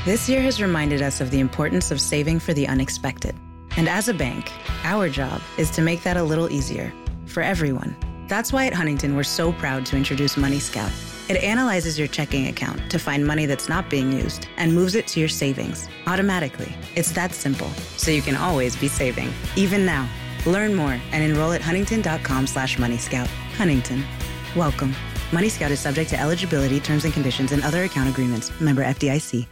This year has reminded us of the importance of saving for the unexpected. And as a bank, our job is to make that a little easier for everyone. That's why at Huntington, we're so proud to introduce Money Scout. It analyzes your checking account to find money that's not being used and moves it to your savings automatically. It's that simple, so you can always be saving, even now. Learn more and enroll at huntington.com/moneyscout. Huntington. Welcome. Money Scout is subject to eligibility, terms and conditions, and other account agreements. Member FDIC.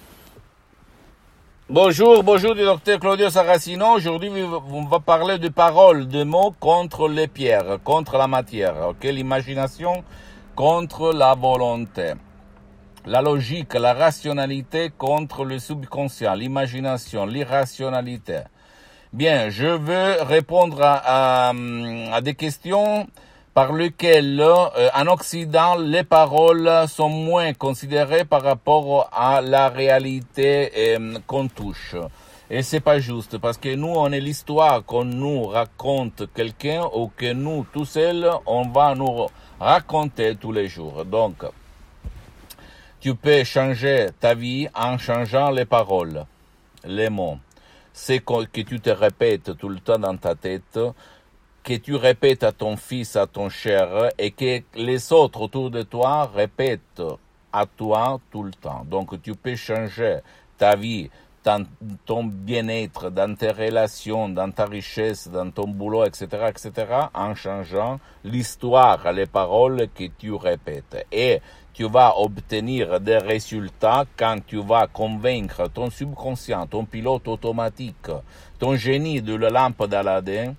Bonjour du docteur Claudio Saracino. Aujourd'hui, on va parler de paroles, de mots contre les pierres, contre la matière, ok? L'imagination contre la volonté. La logique, la rationalité contre le subconscient, l'imagination, l'irrationalité. Bien, je veux répondre à des questions par lesquelles, en Occident, les paroles sont moins considérées par rapport à la réalité qu'on touche. Et c'est pas juste, parce que nous, on est l'histoire qu'on nous raconte quelqu'un ou que nous, tout seuls, on va nous raconter tous les jours. Donc, tu peux changer ta vie en changeant les paroles, les mots. C'est que tu te répètes tout le temps dans ta tête, que tu répètes à ton fils, à ton cher, et que les autres autour de toi répètent à toi tout le temps. Donc tu peux changer ta vie, ton bien-être, dans tes relations, dans ta richesse, dans ton boulot, etc., en changeant l'histoire, les paroles que tu répètes. Et tu vas obtenir des résultats quand tu vas convaincre ton subconscient, ton pilote automatique, ton génie de la lampe d'Aladin.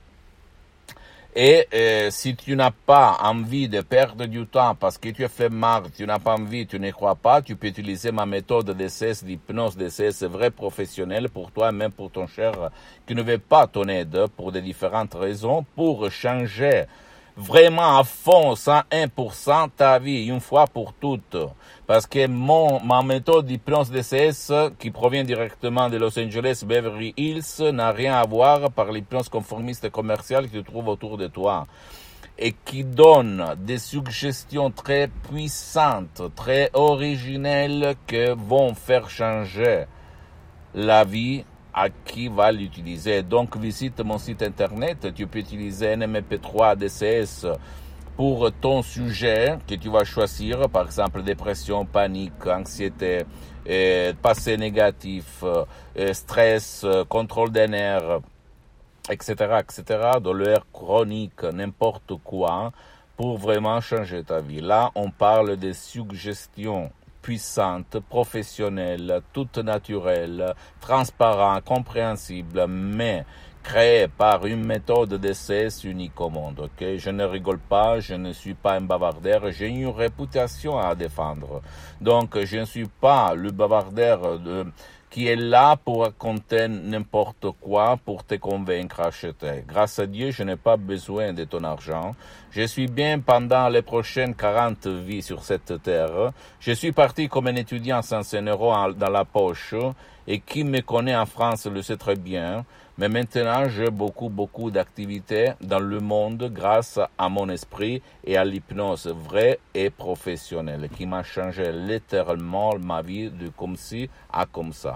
Et si tu n'as pas envie de perdre du temps parce que tu es flemmard, tu n'as pas envie, tu ne crois pas, tu peux utiliser ma méthode d'essai, d'hypnose d'essai, vrai professionnel pour toi, même pour ton cher, qui ne veut pas ton aide pour des différentes raisons, pour changer vraiment à fond, 101% ta vie, une fois pour toutes. Parce que ma méthode d'hypnose DCS, qui provient directement de Los Angeles, Beverly Hills, n'a rien à voir par l'hypnose conformiste et commerciale que tu trouves autour de toi. Et qui donne des suggestions très puissantes, très originelles, que vont faire changer la vie à qui va l'utiliser. Donc, visite mon site internet. Tu peux utiliser NMP3 DCS pour ton sujet que tu vas choisir. Par exemple, dépression, panique, anxiété, passé négatif, stress, contrôle des nerfs, etc., douleur chronique, n'importe quoi, pour vraiment changer ta vie. Là, on parle des suggestions puissante, professionnelle, toute naturelle, transparente, compréhensible, mais créée par une méthode d'essai unique au monde. Ok, je ne rigole pas, je ne suis pas un bavardeur, j'ai une réputation à défendre. Donc, je ne suis pas le bavardeur qui est là pour raconter n'importe quoi pour te convaincre à acheter. Grâce à Dieu, je n'ai pas besoin de ton argent. Je suis bien pendant les prochaines 40 vies sur cette terre. Je suis parti comme un étudiant sans un euro dans la poche, et qui me connaît en France le sait très bien. Mais maintenant, j'ai beaucoup d'activités dans le monde grâce à mon esprit et à l'hypnose vraie et professionnelle qui m'a changé littéralement ma vie de comme ci à comme ça.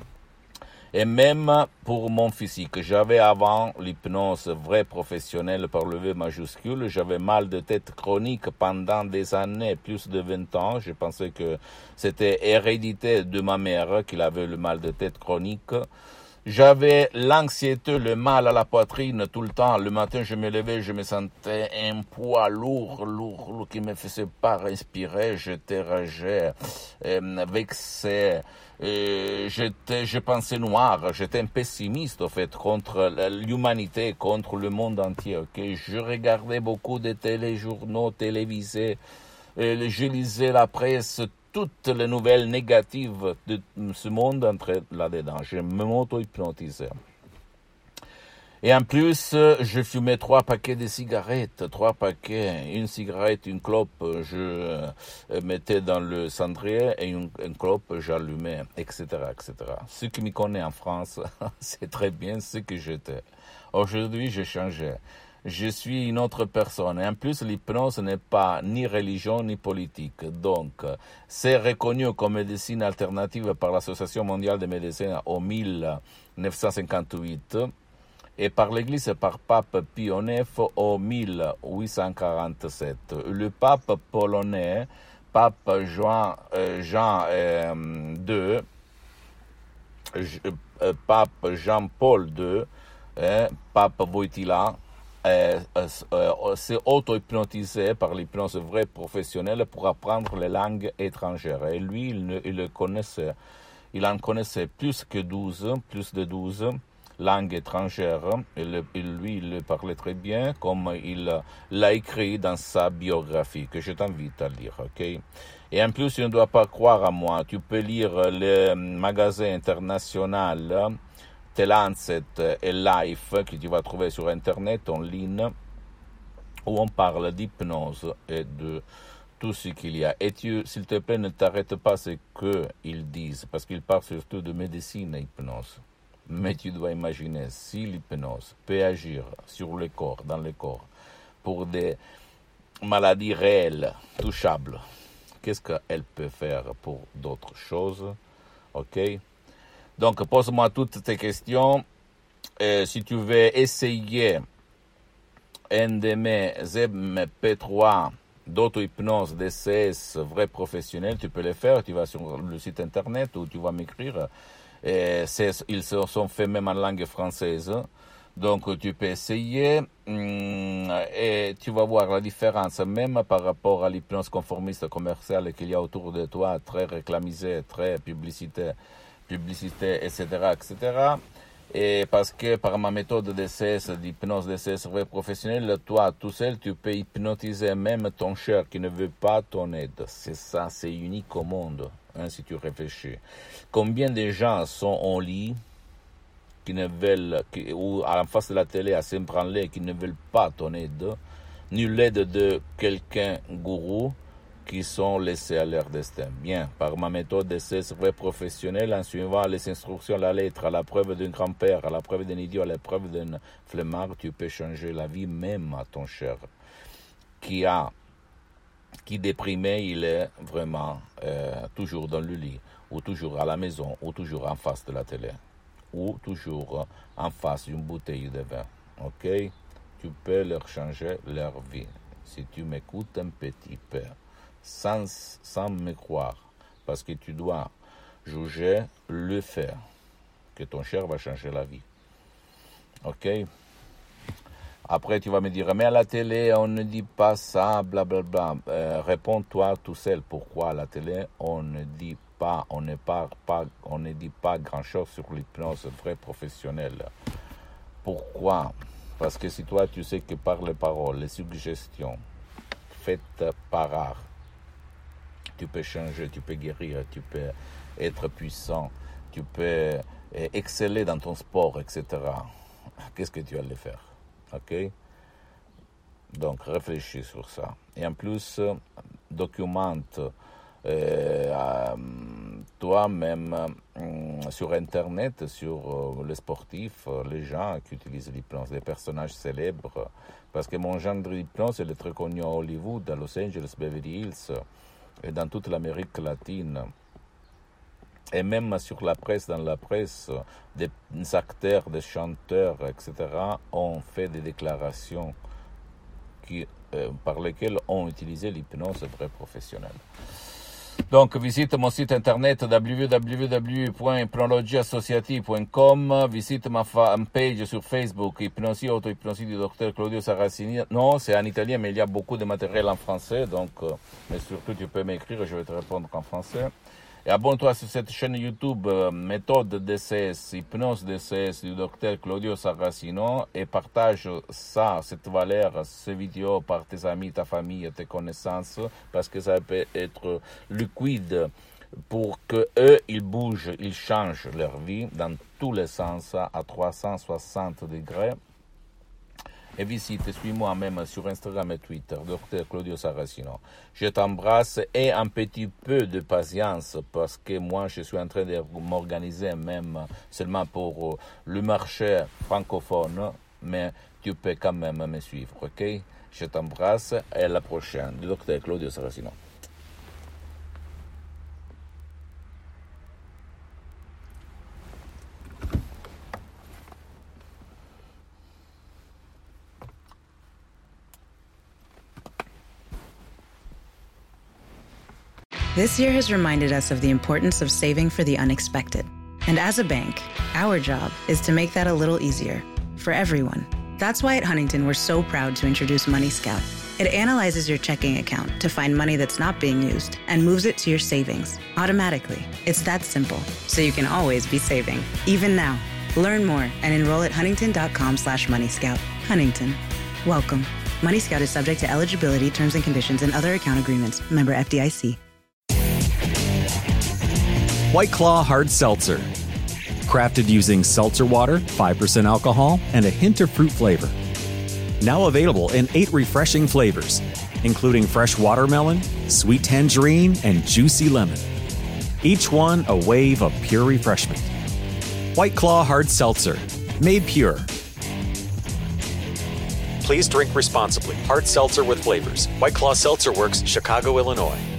Et même pour mon physique, j'avais avant l'hypnose vraie professionnelle par le V majuscule, j'avais mal de tête chronique pendant des années, plus de 20 ans. Je pensais que c'était hérédité de ma mère qu'il avait le mal de tête chronique. J'avais l'anxiété, le mal à la poitrine tout le temps. Le matin, je me levais, je me sentais un poids lourd qui me faisait pas respirer. J'étais ragé, vexé. Je pensais noir, j'étais un pessimiste en fait contre l'humanité, contre le monde entier. Ok, je regardais beaucoup de téléjournaux télévisés, je lisais la presse, toutes les nouvelles négatives de ce monde entraient là-dedans. Je m'auto-hypnotisais. Et en plus, je fumais 3 paquets de cigarettes, 3 paquets, une cigarette, une clope, je mettais dans le cendrier et une clope, j'allumais, etc. Ceux qui me connaissent en France, c'est très bien ce que j'étais. Aujourd'hui, j'ai changé. je suis une autre personne. Et en plus, l'hypnose n'est pas ni religion ni politique. Donc, c'est reconnu comme médecine alternative par l'Association mondiale des médecins en 1958 et par l'Église et par Pape Pie IX en 1847. Le pape polonais, Pape Jean II, Pape Jean-Paul II, Pape Wojtyla, s'est auto-hypnotisé par l'hypnose vraie professionnelle pour apprendre les langues étrangères. Et lui, il en connaissait plus de 12 langues étrangères. Et lui, il le parlait très bien, comme il l'a écrit dans sa biographie, que je t'invite à lire, ok? Et en plus, tu ne dois pas croire à moi. Tu peux lire les magasins internationaux, The Lancet et Life, que tu vas trouver sur Internet, en ligne, où on parle d'hypnose et de tout ce qu'il y a. Et s'il te plaît, ne t'arrête pas ce qu'ils disent, parce qu'ils parlent surtout de médecine et hypnose. Mais tu dois imaginer, si l'hypnose peut agir sur le corps, dans le corps, pour des maladies réelles, touchables, qu'est-ce qu'elle peut faire pour d'autres choses? Ok? Donc, pose-moi toutes tes questions. Si tu veux essayer un de mes MP3 d'auto-hypnose DCS vrai professionnel, tu peux le faire. Tu vas sur le site internet ou tu vas m'écrire. Ils sont faits même en langue française. Donc, tu peux essayer et tu vas voir la différence, même par rapport à l'hypnose conformiste commerciale qu'il y a autour de toi, très réclamisée, très publicité, etc., etc. Et parce que par ma méthode DCS, d'hypnose DCS vrai professionnelle, toi, tout seul, tu peux hypnotiser même ton cher qui ne veut pas ton aide. C'est ça, c'est unique au monde, hein, si tu réfléchis. Combien de gens sont en lit, qui ne veulent, ou en face de la télé à s'ébranler, qui ne veulent pas ton aide, ni l'aide de quelqu'un gourou, qui sont laissés à leur destin. Bien, par ma méthode d'essai vrai professionnel, en suivant les instructions à la lettre, à la preuve d'un grand-père, à la preuve d'un idiot, à la preuve d'un flemmard, tu peux changer la vie même à ton cher, qui déprimé, il est vraiment toujours dans le lit, ou toujours à la maison, ou toujours en face de la télé, ou toujours en face d'une bouteille de vin. Ok? Tu peux leur changer leur vie, si tu m'écoutes un petit peu. Sans me croire, parce que tu dois juger le fait que ton cher va changer la vie. Ok? Après, tu vas me dire, mais à la télé, on ne dit pas ça, blablabla. Réponds-toi tout seul. Pourquoi à la télé, on ne dit pas, on ne dit pas grand-chose sur l'hypnose vraie professionnelle. Pourquoi? Parce que si toi, tu sais que par les paroles, les suggestions faites par art, tu peux changer, tu peux guérir, tu peux être puissant, tu peux exceller dans ton sport, etc. Qu'est-ce que tu allais faire? Ok? Donc, réfléchis sur ça. Et en plus, documente toi-même sur Internet, sur les sportifs, les gens qui utilisent l'hypnose, les personnages célèbres. Parce que mon genre d'hypnose, elle est très connu à Hollywood, à Los Angeles, Beverly Hills, et dans toute l'Amérique latine. Et même sur la presse, dans la presse, des acteurs, des chanteurs, etc., ont fait des déclarations par lesquelles ont utilisé l'hypnose vraie professionnelle. Donc, visite mon site internet www.hypnologieassociative.com, visite ma fanpage sur Facebook, Hypnosie, auto-hypnosie du docteur Claudio Saracini. Non, c'est en italien, mais il y a beaucoup de matériel en français, donc, mais surtout tu peux m'écrire, je vais te répondre en français. Et abonne-toi sur cette chaîne YouTube, méthode DCS, hypnose DCS du docteur Claudio Saracino, et partage ça, cette valeur, ces vidéos par tes amis, ta famille, tes connaissances, parce que ça peut être liquide pour que eux, ils bougent, ils changent leur vie dans tous les sens à 360 degrés. Et visite, suis-moi même sur Instagram et Twitter, Dr Claudio Saracino. Je t'embrasse et un petit peu de patience parce que moi, je suis en train de m'organiser même seulement pour le marché francophone mais tu peux quand même me suivre, ok? Je t'embrasse et à la prochaine. Le docteur Claudio Saracino. This year has reminded us of the importance of saving for the unexpected. And as a bank, our job is to make that a little easier for everyone. That's why at Huntington, we're so proud to introduce Money Scout. It analyzes your checking account to find money that's not being used and moves it to your savings automatically. It's that simple, so you can always be saving, even now. Learn more and enroll at huntington.com/moneyscout. Huntington, welcome. Money Scout is subject to eligibility, terms and conditions, and other account agreements. Member FDIC. White Claw Hard Seltzer. Crafted using seltzer water, 5% alcohol, and a hint of fruit flavor. Now available in 8 refreshing flavors, including fresh watermelon, sweet tangerine, and juicy lemon. Each one a wave of pure refreshment. White Claw Hard Seltzer. Made pure. Please drink responsibly. Hard seltzer with flavors. White Claw Seltzer Works, Chicago, Illinois.